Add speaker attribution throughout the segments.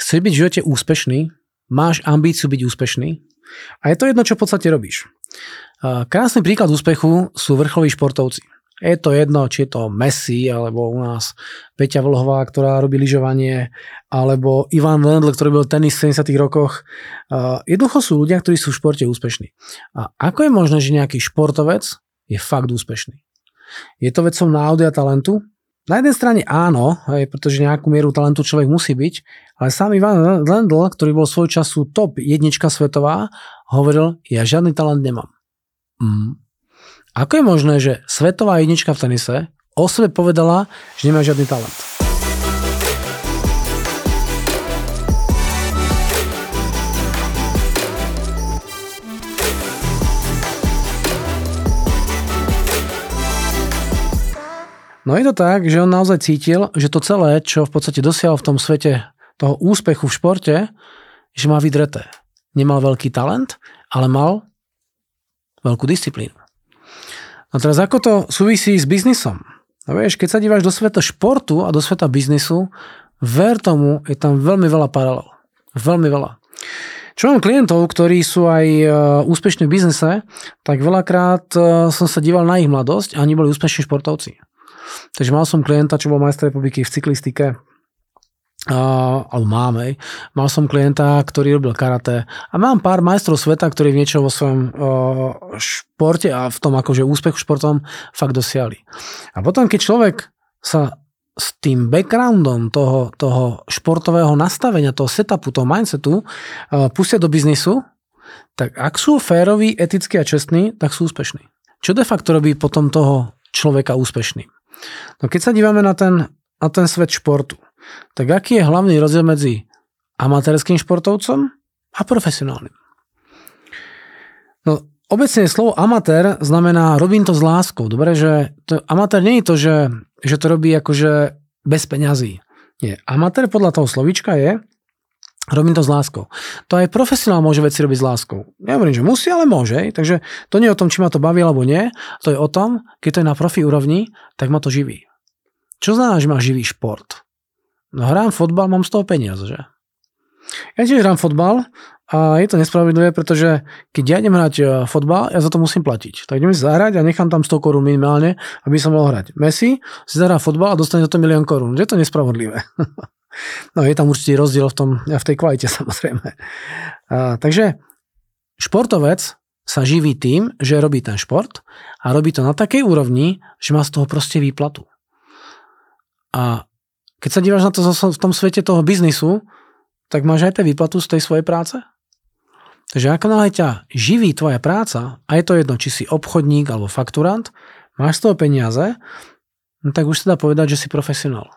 Speaker 1: chceš byť v živote úspešný, máš ambíciu byť úspešný a je to jedno, čo v podstate robíš. Krásny príklad úspechu sú vrcholoví športovci. Je to jedno, či je to Messi, alebo u nás Peťa Vlhová, ktorá robí lyžovanie, alebo Ivan Lendl, ktorý byl tenis v 70. rokoch. Jednoducho sú ľudia, ktorí sú v športe úspešní. A ako je možné, že nejaký športovec je fakt úspešný? Je to vecou náhody a talentu? Na jednej strane áno, pretože nejakú mieru talentu človek musí byť, ale sám Ivan Lendl, ktorý bol svoj času top jednička svetová, hovoril, ja žiadny talent nemám. Ako je možné, že svetová jednička v tenise o sebe povedala, že nemá žiadny talent? No je to tak, že on naozaj cítil, že to celé, čo v podstate dosiahol v tom svete toho úspechu v športe, že má vydreté. Nemal veľký talent, ale mal veľkú disciplínu. No teraz ako to súvisí s biznisom? No vieš, keď sa díváš do sveta športu a do sveta biznisu, ver tomu, je tam veľmi veľa paralel. Veľmi veľa. Čo mám klientov, ktorí sú aj úspešní v biznise, tak veľakrát som sa díval na ich mladosť a oni boli úspešní športovci. Takže mal som klienta, čo bol majster republiky v cyklistike, alebo máme. Mal som klienta, ktorý robil karate a mám pár majstrov sveta, ktorí v niečo vo svojom športe a v tom akože úspechu športom fakt dosiahli. A potom, keď človek sa s tým backgroundom toho športového nastavenia, toho setupu, toho mindsetu pustia do biznisu, tak ak sú féroví, etickí a čestní, tak sú úspešní. Čo de facto robí potom toho človeka úspešným? No keď sa dívame na ten svet športu, tak aký je hlavný rozdiel medzi amatérským športovcom a profesionálnym? No, obecne slovo amatér znamená robím to s láskou. Dobre, že amatér nie je to, že to robí akože bez peňazí. Nie. Amatér podľa toho slovíčka je robím to s láskou. To aj profesionál môže veci robiť s láskou. Nehovorím, že musí, ale môže. Takže to nie je o tom, či ma to baví alebo nie. To je o tom, keď to je na profi úrovni, tak ma to živí. Čo znamená, že ma živí šport? No hrám fotbal, mám z toho peniaze, že? Ja tiež hrám fotbal a je to nespravedlivé, pretože keď ja idem hrať fotbal, ja za to musím platiť. Tak idem si zahrať a nechám tam 100 korún minimálne, aby som mohol hrať. Messi si zahrá fotbal a dostane za to 1 000 000 korún. Je to nespravodlivé. No je tam určitý rozdiel v tej kvalite samozrejme. Takže športovec sa živí tým, že robí ten šport a robí to na takej úrovni, že má z toho proste výplatu. A keď sa díváš na to v tom svete toho biznisu, tak máš aj výplatu z tej svojej práce. Takže ako náhle ťa živí tvoja práca, a je to jedno, či si obchodník alebo fakturant, máš z toho peniaze, no tak už sa dá povedať, že si profesionál.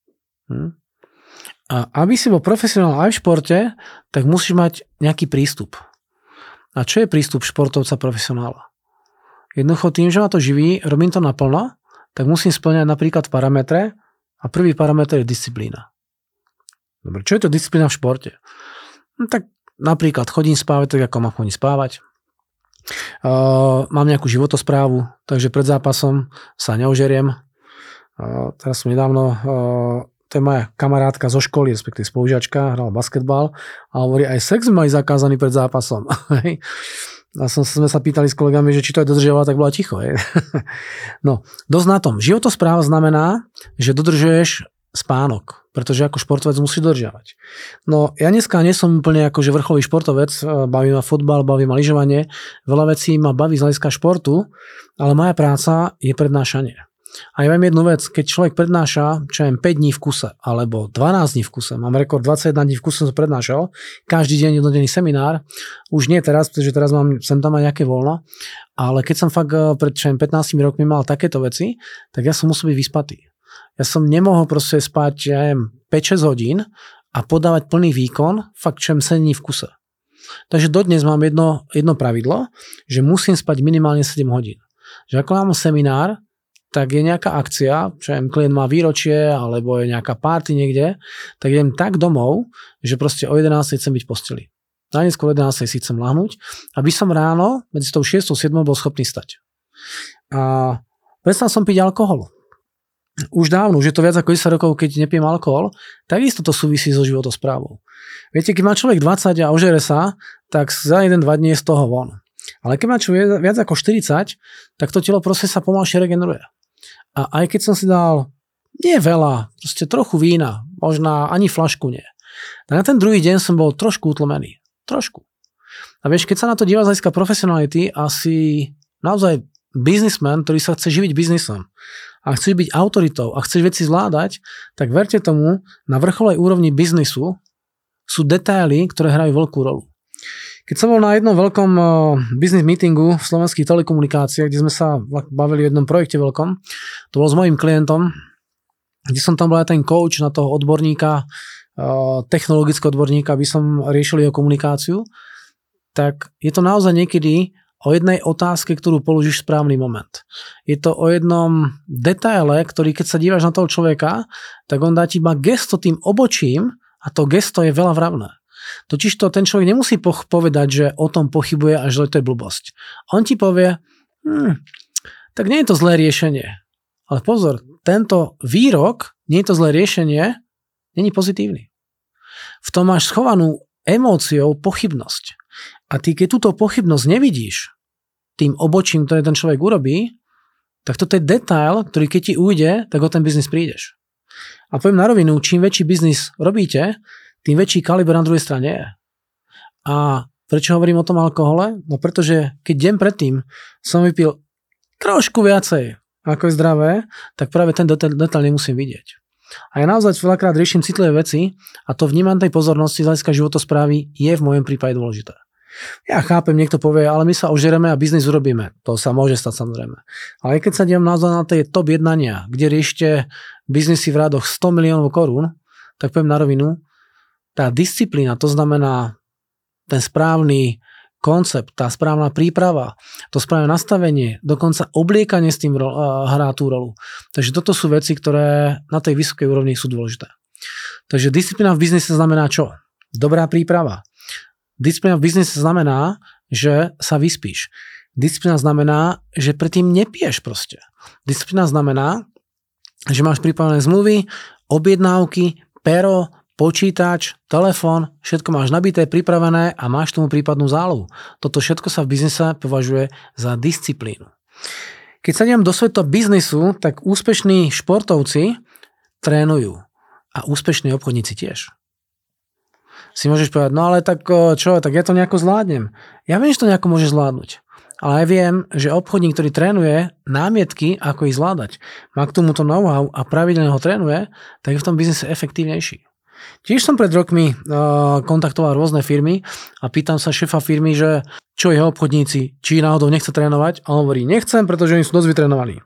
Speaker 1: A aby si bol profesionál aj v športe, tak musíš mať nejaký prístup. A čo je prístup športovca profesionála? Jednoducho tým, že ma to živí, robím to naplno, tak musím spĺňať napríklad parametre. A prvý parameter je disciplína. Dobre, čo je to disciplína v športe? No, tak napríklad chodím spávať tak, ako mám chodiť spávať. Mám nejakú životosprávu, takže pred zápasom sa neožeriem. Teraz som nedávno, to je moja kamarátka zo školy, respektíve spolužiačka, hrala basketbal a hovorí, aj sex mali zakázaný pred zápasom. A sme sa pýtali s kolegami, že či to je dodržiavala, tak bola ticho. No, dosť na tom. Životospráva znamená, že dodržuješ spánok, pretože ako športovec musíš dodržiavať. No, ja dneska nie som úplne akože vrcholový športovec, baví ma futbal, baví ma lyžovanie, veľa vecí ma baví z hľadiska športu, ale moja práca je prednášanie. A ja viem jednu vec, keď človek prednáša, čo je 5 dní v kuse, alebo 12 dní v kuse, mám rekord 21 dní v kuse, som prednášal, každý deň jednodenný seminár, už nie teraz, pretože teraz sem tam aj nejaké voľno, ale keď som fakt pred 15 rokmi mal takéto veci, tak ja som musel byť vyspatý. Ja som nemohol proste spať, ja neviem, 5-6 hodín a podávať plný výkon, fakt čo 7 dní v kuse. Takže dodnes mám jedno pravidlo, že musím spať minimálne 7 hodín. Že ako mám seminár, tak je nejaká akcia, čo klient má výročie, alebo je nejaká party niekde, tak idem tak domov, že proste o 11 chcem byť v posteli. Najneskôr o 11 si chcem lahnúť, aby som ráno medzi tou 6 a 7 bol schopný stať. A prestal som piť alkohol. už dávno, už je to viac ako 10 rokov, keď nepijem alkohol, takisto to súvisí so životosprávou. Viete, keď má človek 20 a ožere sa, tak za 1-2 dní je z toho von. Ale keď má človek viac ako 40, tak to telo proste sa pomalšie regeneruje. A aj keď som si dal nie veľa, proste trochu vína, možno ani flašku nie. Tak na ten druhý deň som bol trošku utlmený. Trošku. A vieš, keď sa na to díva z hľadiska profesionality, asi naozaj biznismen, ktorý sa chce živiť biznisom a chceš byť autoritou a chceš veci zvládať, tak verte tomu, na vrcholej úrovni biznisu sú detaily, ktoré hrajú veľkú rolu. Keď som bol na jednom veľkom business meetingu v slovenských telekomunikáciách, kde sme sa bavili o jednom projekte veľkom, to bol s mojím klientom, kde som tam bol aj ten coach na toho odborníka, technologického odborníka, aby som riešil jeho komunikáciu, tak je to naozaj niekedy o jednej otázke, ktorú položíš v správny moment. Je to o jednom detaile, ktorý keď sa díváš na toho človeka, tak on dá ti iba gesto tým obočím a to gesto je veľa vravné. Totižto ten človek nemusí povedať, že o tom pochybuje a že to je blbosť. On ti povie, tak nie je to zlé riešenie. Ale pozor, tento výrok, nie je to zlé riešenie, není pozitívny. V tom máš schovanú emóciou pochybnosť. A ty, keď túto pochybnosť nevidíš tým obočím, ktoré ten človek urobí, tak toto je detail, ktorý keď ti ujde, tak o ten biznis prídeš. A poviem na rovinu, čím väčší biznis robíte, tým väčší kaliber na druhej strane je. A prečo hovorím o tom alkohole? No pretože keď deň predtým som vypil trošku viacej, ako je zdravé, tak práve ten detail nemusím vidieť. A ja naozaj veľakrát riešim citlivé veci a to vnímanie tej pozornosti z hľadiska životosprávy je v mojom prípade dôležité. Ja chápem, niekto povie, ale my sa ožereme a biznis urobíme. To sa môže stať samozrejme. Ale keď sa dívam naozaj na tie top jednania, kde riešte biznisy v rádoch 100 miliónov korún, tak poviem na rovinu, tá disciplína, to znamená ten správny koncept, tá správna príprava, to správne nastavenie, dokonca obliekanie s tým hrá tú rolu. Takže toto sú veci, ktoré na tej vysokej úrovni sú dôležité. Takže disciplína v biznise znamená čo? Dobrá príprava. Disciplína v biznise znamená, že sa vyspíš. Disciplína znamená, že predtým nepiješ proste. Disciplína znamená, že máš pripravené zmluvy, objednávky, pero, počítač, telefón, všetko máš nabité, pripravené a máš tomu prípadnú zálohu. Toto všetko sa v biznise považuje za disciplínu. Keď sa idem do sveta biznisu, tak úspešní športovci trénujú a úspešní obchodníci tiež. Si môžeš povedať, no ale tak čo, tak ja to nejako zvládnem. Ja viem, že to nejako môže zvládnuť. Ale aj viem, že obchodník, ktorý trénuje námietky, ako ich zvládať, má k tomuto know-how a pravidelne ho trénuje, tak je v tom biznise efektívnejší. Tiež som pred rokmi kontaktoval rôzne firmy a pýtam sa šéfa firmy, že čo jeho obchodníci, či náhodou nechce trénovať, a on hovorí, nechcem, pretože oni sú dosť vytrénovaní.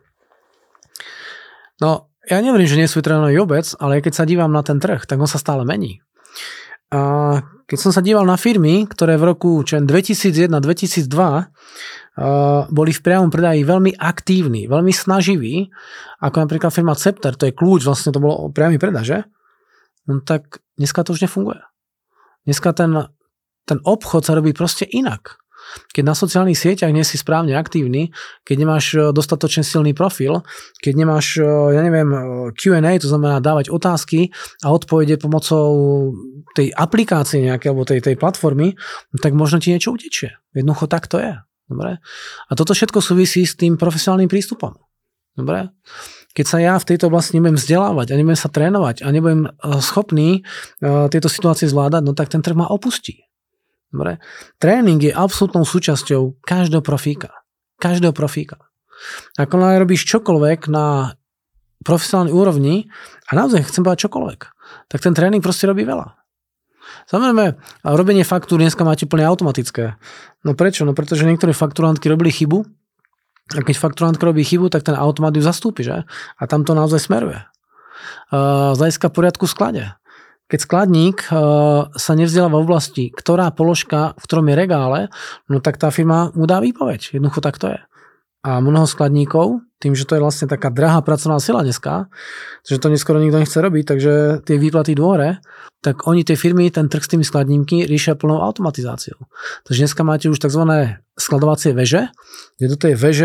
Speaker 1: No, ja neverím, že nie sú vytrénovaní vôbec, ale keď sa dívam na ten trh, tak on sa stále mení. A keď som sa díval na firmy, ktoré v roku 2001-2002 boli v priamom predaji veľmi aktívni, veľmi snaživí, ako napríklad firma Cepter, to je kľúč, vlastne to bolo priamy predaže, no tak dneska to už nefunguje. Dneska ten obchod sa robí proste inak. Keď na sociálnych sieťach nie si správne aktívny, keď nemáš dostatočne silný profil, keď nemáš, Q&A, to znamená dávať otázky a odpovede pomocou tej aplikácie nejaké, alebo tej platformy, tak možno ti niečo utečie. Jednoducho tak to je. Dobre? A toto všetko súvisí s tým profesionálnym prístupom. Dobre? Keď sa ja v tejto oblasti nebudem vzdelávať a nebudem sa trénovať a nebudem schopný tieto situácie zvládať, no tak ten trh ma opustí. Dobre? Tréning je absolútnou súčasťou každého profíka. Každého profíka. Ako robíš čokoľvek na profesionálnej úrovni a naozaj chcem povedať čokoľvek, tak ten tréning proste robí veľa. Samozrejme, robenie faktúr dneska máte úplne automatické. No prečo? No pretože niektoré fakturantky robili chybu a keď fakturantka robí chybu, tak ten automat ju zastúpi, že? A tam to naozaj smeruje. Z hľadiska poriadku v sklade. Keď skladník sa nevzdeláva v oblasti, ktorá položka, v ktorom je regále, no tak tá firma mu dá výpoveď. Jednoducho tak to je. A mnoho skladníkov, tým, že to je vlastne taká drahá pracovná sila dneska, že to neskoro nikto nechce robiť, takže tie výplaty dôre, tak oni tie firmy, ten trh s tými skladníky riešia plnou automatizáciou. Takže dneska máte už tzv. Skladovacie veže, kde do tej veže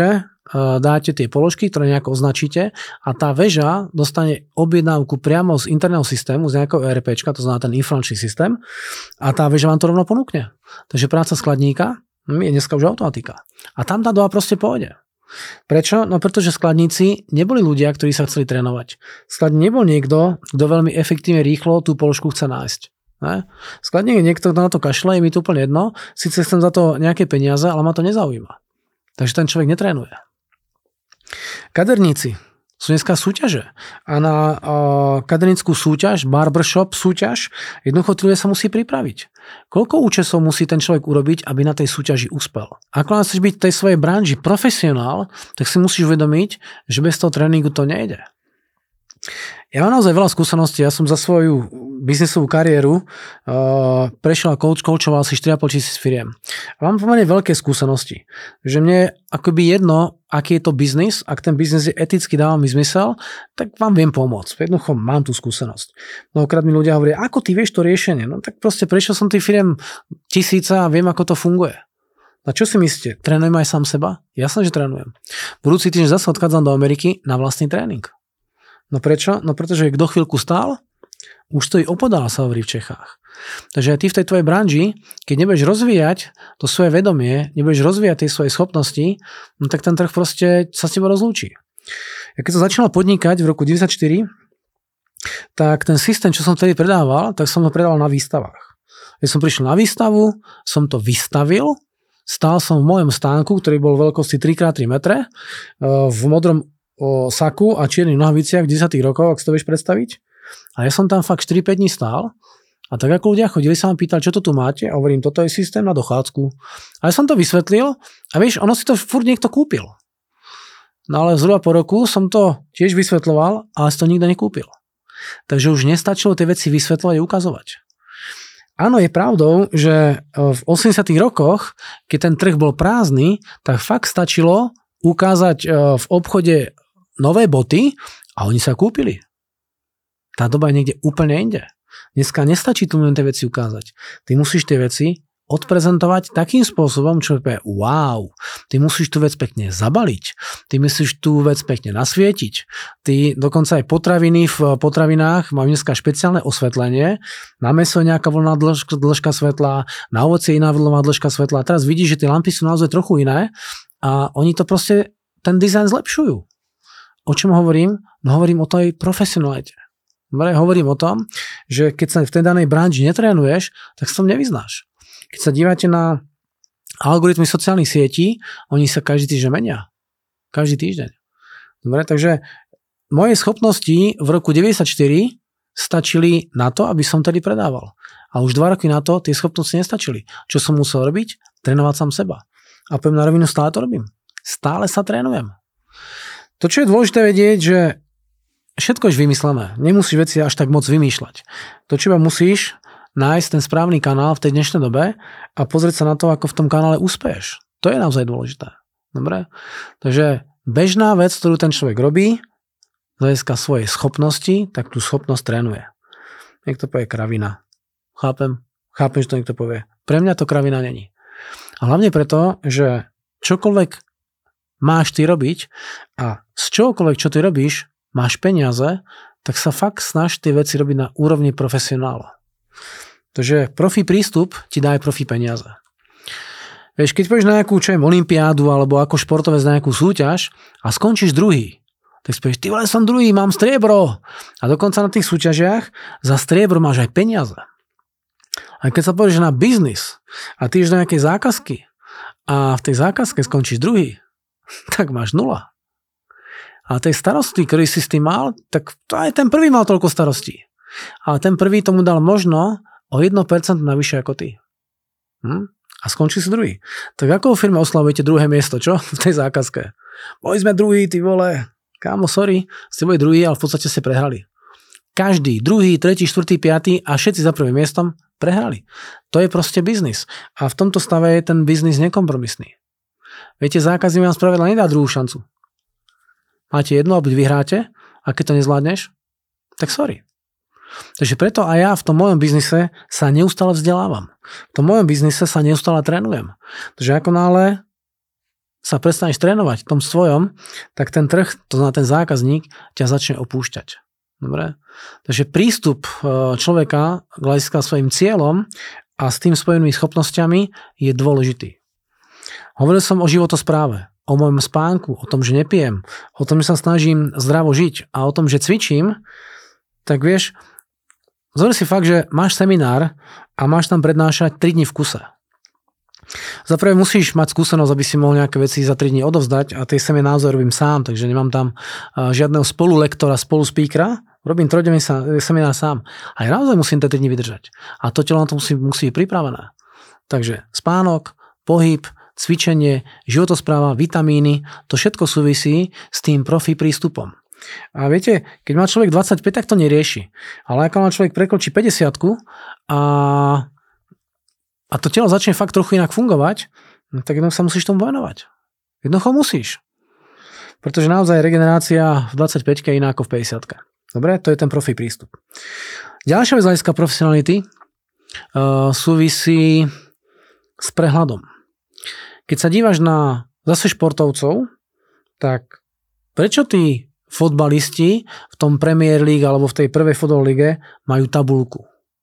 Speaker 1: dáte tie položky, ktoré nejako označíte a tá väža dostane objednávku priamo z interného systému, z nejakého ERPčka, to znamená ten informačný systém a tá väža vám to rovno ponúkne. Takže práca skladníka je dneska už automatika. A tam tá doba proste pôjde. Prečo? No pretože skladníci neboli ľudia, ktorí sa chceli trénovať. Skladník nebol niekto, kto veľmi efektívne rýchlo tú položku chce nájsť. Ne? Skladník je niekto, kto na to kašle, je mi to úplne jedno, síce chcem za to nejaké peniaze, ale ma to nezaujíma. Takže ten človek netrénuje. Kaderníci sú dneska súťaže a na kadernícku súťaž, barbershop súťaž, jednoducho tí ľudia sa musí pripraviť. Koľko účesov musí ten človek urobiť, aby na tej súťaži uspel? Ak chceš byť v tej svojej branži profesionál, tak si musíš uvedomiť, že bez toho tréningu to nejde. Ja mám naozaj veľa skúseností, ja som za svoju biznisovú kariéru prešiel a coachoval si 4,5 tisíc firiem. A mám pomerne veľké skúsenosti, že mne akoby jedno, aký je to biznis, ak ten biznis je eticky, dáva mi zmysel, tak vám viem pomôcť. Jednoducho mám tú skúsenosť. Mnohokrát mi ľudia hovoria, ako ty vieš to riešenie? No tak proste prešiel som tých firiem tisíca a viem, ako to funguje. A čo si myslíte? Trénujem aj sám seba? Jasné, že trénujem. Budúci týždeň zase odchádzam do Ameriky na vlastný tréning. No prečo? No pretože kto chvíľku stál, už stojí opodál, sa hovorí v Čechách. Takže aj ty v tej tvojej branži, keď nebudeš rozvíjať to svoje vedomie, nebudeš rozvíjať tie svoje schopnosti, no tak ten trh proste sa s tebou rozlúči. Ja keď som začal podnikať v roku 1994, tak ten systém, čo som vtedy predával, tak som ho predával na výstavách. Keď som prišiel na výstavu, som to vystavil, stál som v mojom stánku, ktorý bol veľkosti 3x3 metre, v modrom saku a čiernych nohaviciach 10 rokov, ak si to vieš predstaviť. A ja som tam fakt 4-5 dní stál a tak ako ľudia chodili, sa ma pýtali, čo to tu máte a hovorím, toto je systém na dochádzku. A ja som to vysvetlil a vieš, ono si to furt niekto kúpil. No ale zhruba po roku som to tiež vysvetľoval, ale si to nikto nekúpil. Takže už nestačilo tie veci vysvetľovať a ukazovať. Áno, je pravdou, že v 80 rokoch, keď ten trh bol prázdny, tak fakt stačilo ukázať v obchode nové boty a oni sa kúpili. Tá doba je niekde úplne inde. Dneska nestačí tu len tie veci ukázať. Ty musíš tie veci odprezentovať takým spôsobom, čo je wow. Ty musíš tú vec pekne zabaliť. Ty musíš tú vec pekne nasvietiť. Ty dokonca aj potraviny v potravinách majú dneska špeciálne osvetlenie. Na mäso je nejaká voľná dĺžka svetla, na ovocie je iná voľná dĺžka svetla. A teraz vidíš, že tie lampy sú naozaj trochu iné a oni to proste, ten dizajn zlepšujú. O čom hovorím? No hovorím o tej profesionalite. Hovorím o tom, že keď sa v tej danej branži netrénuješ, tak sa tom nevyznáš. Keď sa dívate na algoritmy sociálnych sietí, oni sa každý týždeň menia. Každý týždeň. Dobre, takže moje schopnosti v roku 1994 stačili na to, aby som tedy predával. A už 2 roky na to tie schopnosti nestačili. Čo som musel robiť? Trénovať sám seba. A poviem na rovinu, stále to robím. Stále sa trénujem. To, čo je dôležité vedieť, že všetko je vymyslené. Nemusíš veci až tak moc vymýšľať. To, čo iba musíš nájsť ten správny kanál v tej dnešnej dobe a pozrieť sa na to, ako v tom kanále uspeješ. To je naozaj dôležité. Dobre? Takže bežná vec, ktorú ten človek robí, z hľadiska svojej schopnosti, tak tú schopnosť trénuje. Niekto povie kravina. Chápem, že to niekto povie. Pre mňa to kravina není. A hlavne preto, že čokoľvek máš ty robiť a z čokoľvek, čo ty robíš, máš peniaze, tak sa fakt snaž tie veci robiť na úrovni profesionála. Takže profi prístup ti dá aj profi peniaze. Vieš, keď pôjdeš na nejakú olympiádu alebo ako športovec na nejakú súťaž a skončíš druhý, tak si povieš, ty vole, som druhý, mám striebro. A dokonca na tých súťažiach za striebro máš aj peniaze. A keď sa povieš na biznis a ty ideš do nejakej zákazky a v tej zákazke skončíš druhý, tak máš 0. A tej starosti, ktorý si s tým mal, tak to aj ten prvý mal toľko starostí. Ale ten prvý tomu dal možno o 1% navyše ako ty. A skončí si druhý. Tak ako vo firme oslavujete druhé miesto, čo? V tej zákazke. Boli sme druhý, ty vole. Kámo, sorry, ste boli druhý, ale v podstate ste prehrali. Každý, druhý, tretí, štvrtý, piatý a všetci za prvým miestom prehrali. To je proste biznis. A v tomto stave je ten biznis nekompromisný. Viete, zákazník vám spravedla nedá druhú šancu. Máte jedno, buď vyhráte, a keď to nezvládneš, tak sorry. Takže preto aj ja v tom mojom biznise sa neustále vzdelávam. V tom mojom biznise sa neustále trénujem. Takže ako náhle sa prestaneš trénovať v tom svojom, tak ten trh, to znamená ten zákazník, ťa začne opúšťať. Dobre? Takže prístup človeka k hľadiska svojim cieľom a s tým spojenými schopnosťami je dôležitý. Hovoril som o životospráve, o mojom spánku, o tom, že nepijem, o tom, že sa snažím zdravo žiť a o tom, že cvičím, tak vieš, zober si fakt, že máš seminár a máš tam prednášať 3 dní v kuse. Zaprvé musíš mať skúsenosť, aby si mohol nejaké veci za 3 dní odovzdať a tie semináre naozaj robím sám, takže nemám tam žiadneho spolulektora, spoluspeakera, robím 3-denný seminár sám. A ja naozaj musím tie 3 dní vydržať. A to telo na to musí byť pripravené. Takže spánok, pohyb, cvičenie, životospráva, vitamíny, to všetko súvisí s tým profi prístupom. A viete, keď má človek 25, tak to nerieši. Ale ako má človek prekročí 50 a to telo začne fakt trochu inak fungovať, tak jednoducho sa musíš tomu venovať. Jednoducho musíš. Pretože naozaj regenerácia v 25 je iná ako v 50. Dobre, to je ten profi prístup. Ďalšia vec z hľadiska profesionality súvisí s prehľadom. Keď sa dívaš na zase športovcov, tak prečo tí fotbalisti v tom Premier League alebo v tej prvej fotbal lige majú tabuľku?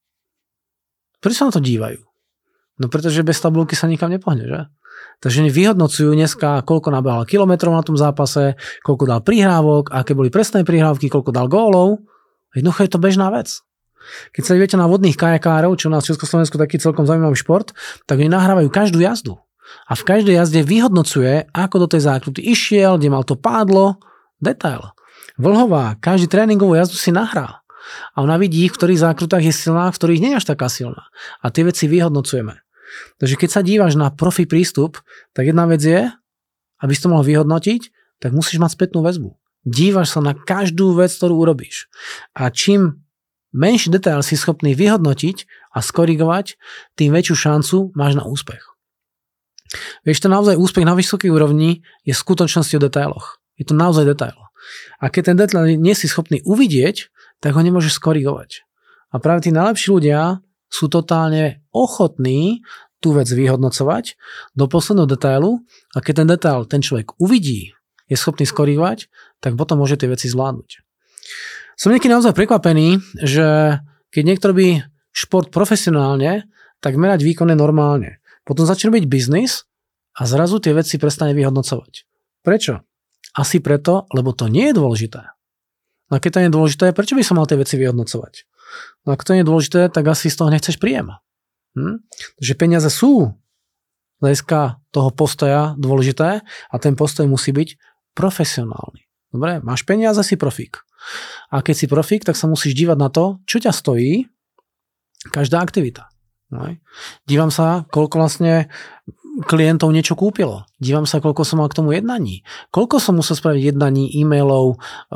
Speaker 1: Prečo sa na to dívajú? No pretože bez tabuľky sa nikam nepohne, že? Takže oni vyhodnocujú dneska, koľko nabehal kilometrov na tom zápase, koľko dal prihrávok, aké boli presné prihrávky, koľko dal gólov. Jednoducho je to bežná vec. Keď sa idete na vodných kajakárov, čo u nás v Československu taký celkom zaujímavý šport, tak oni nahrávajú každú jazdu. A v každej jazde vyhodnocuje, ako do tej zákruty išiel, kde mal to pádlo, detail. Vlhová, každý tréningovú jazdu si nahrá. A ona vidí, v ktorých zákrutách je silná, v ktorých nie je až taká silná. A tie veci vyhodnocujeme. Takže keď sa dívaš na profi prístup, tak jedna vec je, aby si to mohol vyhodnotiť, tak musíš mať spätnú väzbu. Dívaš sa na každú vec, ktorú urobíš. A čím menší detail si schopný vyhodnotiť a skorigovať, tým väčšiu šancu máš na úspech. Vieš, to naozaj úspech na vysokej úrovni je v skutočnosti o detailoch. Je to naozaj detail. A keď ten detail nie si schopný uvidieť, tak ho nemôžeš skorigovať. A práve tí najlepší ľudia sú totálne ochotní tú vec vyhodnocovať do posledného detailu a keď ten detail ten človek uvidí, je schopný skorigovať, tak potom môže tie veci zvládnuť. Som niekedy naozaj prekvapený, že keď niekto robí šport profesionálne, tak merať výkon je normálne. Potom začne robiť biznis a zrazu tie veci prestane vyhodnocovať. Prečo? Asi preto, lebo to nie je dôležité. No a keď to nie je dôležité, prečo by som mal tie veci vyhodnocovať? No ak to nie je dôležité, tak asi z toho nechceš príjem. Takže peniaze sú z hľadiska toho postoja dôležité a ten postoj musí byť profesionálny. Dobre, máš peniaze, si profík. A keď si profík, tak sa musíš dívať na to, čo ťa stojí každá aktivita. No. Dívam sa, koľko vlastne klientov niečo kúpilo. Dívam sa, koľko som mal k tomu jednaní. Koľko som musel spraviť jednaní, e-mailov,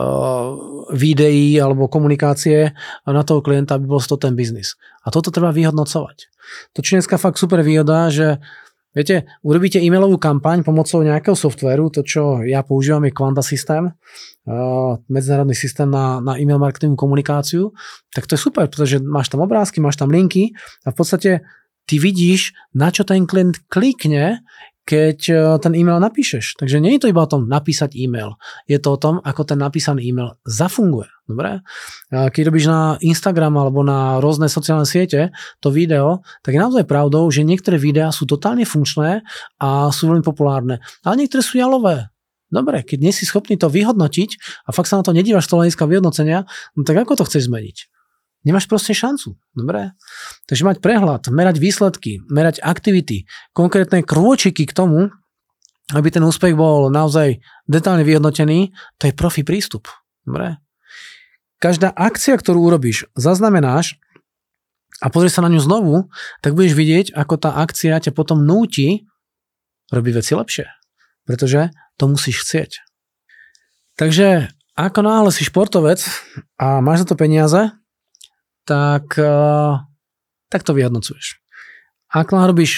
Speaker 1: videí alebo komunikácie na toho klienta, aby bol to ten biznis. A toto treba vyhodnocovať. To je dneska fakt super výhoda, že viete, urobíte e-mailovú kampaň pomocou nejakého softvéru, to čo ja používam je Quanta systém, medzinárodný systém na e-mail marketingovú komunikáciu, tak to je super, pretože máš tam obrázky, máš tam linky a v podstate ty vidíš, na čo ten klient klikne, keď ten e-mail napíšeš. Takže nie je to iba o tom napísať e-mail. Je to o tom, ako ten napísaný e-mail zafunguje. Dobre? Keď robíš na Instagram alebo na rôzne sociálne siete to video, tak je naozaj pravdou, že niektoré videá sú totálne funkčné a sú veľmi populárne. Ale niektoré sú jalové. Dobre, keď nie si schopný to vyhodnotiť a fakt sa na to nedívaš z toho hľadiska vyhodnocenia, no tak ako to chceš zmeniť? Nemáš proste šancu. Dobre? Takže mať prehľad, merať výsledky, merať aktivity, konkrétne krôčiky k tomu, aby ten úspech bol naozaj detálne vyhodnotený, to je profi prístup. Dobre? Každá akcia, ktorú urobíš, zaznamenáš a pozrieš sa na ňu znovu, tak budeš vidieť, ako tá akcia ťa potom núti robiť veci lepšie. Pretože to musíš chcieť. Takže ako náhle si športovec a máš za to peniaze, tak to vyhodnocuješ. Ak robíš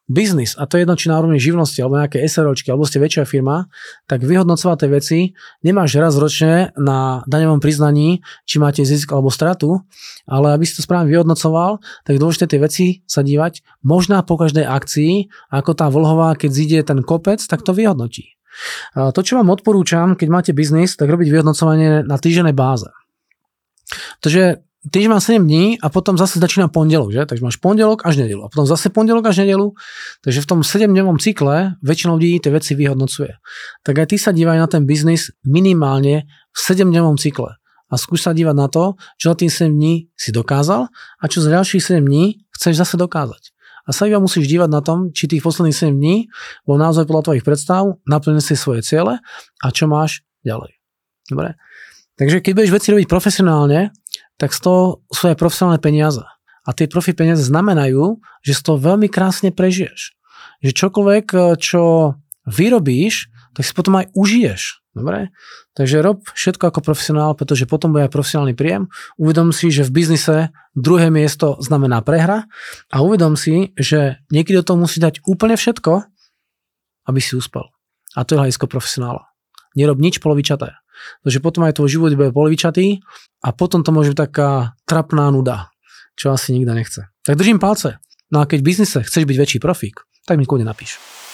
Speaker 1: biznis, a to je jedno, či na úrovni živnosti, alebo nejaké SROčky, alebo ste väčšia firma, tak vyhodnocovať tie veci nemáš raz ročne na daňovom priznaní, či máte zisk alebo stratu, ale aby si to správne vyhodnocoval, tak dôležité tie veci sa dívať možná po každej akcii, ako tá vlhová, keď zíde ten kopec, tak to vyhodnotí. To, čo vám odporúčam, keď máte biznis, tak robiť vyhodnocovanie na týždennej báze. Takže týždeň má 7 dní a potom zase začína pondelok, že? Takže máš pondelok až nedeľu a potom zase pondelok až nedeľu. Takže v tom 7-dňovom cykle väčšina ľudí tie veci vyhodnocuje. Tak aj ty sa dívaj na ten biznis minimálne v 7-dňovom cykle a skús sa dívať na to, čo za tým 7 dní si dokázal a čo za ďalších 7 dní chceš zase dokázať. A sa iba musíš dívať na tom, či tých posledných 7 dní bol naozaj podľa tvojich predstav, naplnil si svoje ciele a čo máš ďalej. Dobre? Takže keď budeš veci robiť profesionálne, tak z toho sú aj profesionálne peniaze. A tie profi peniaze znamenajú, že z toho veľmi krásne prežiješ. Že čokoľvek, čo vyrobíš, tak si potom aj užiješ. Dobre? Takže rob všetko ako profesionál, pretože potom bude aj profesionálny príjem. Uvedom si, že v biznise druhé miesto znamená prehra a uvedom si, že niekedy do toho musí dať úplne všetko, aby si uspel. A to je hľadisko profesionála. Nerob nič polovičaté. Takže potom aj tvoj život bude polovičatý a potom to môže byť taká trapná nuda, čo asi nikto nechce. Tak držím palce. No a keď v biznise chceš byť väčší profík, tak mi kľudne napíš.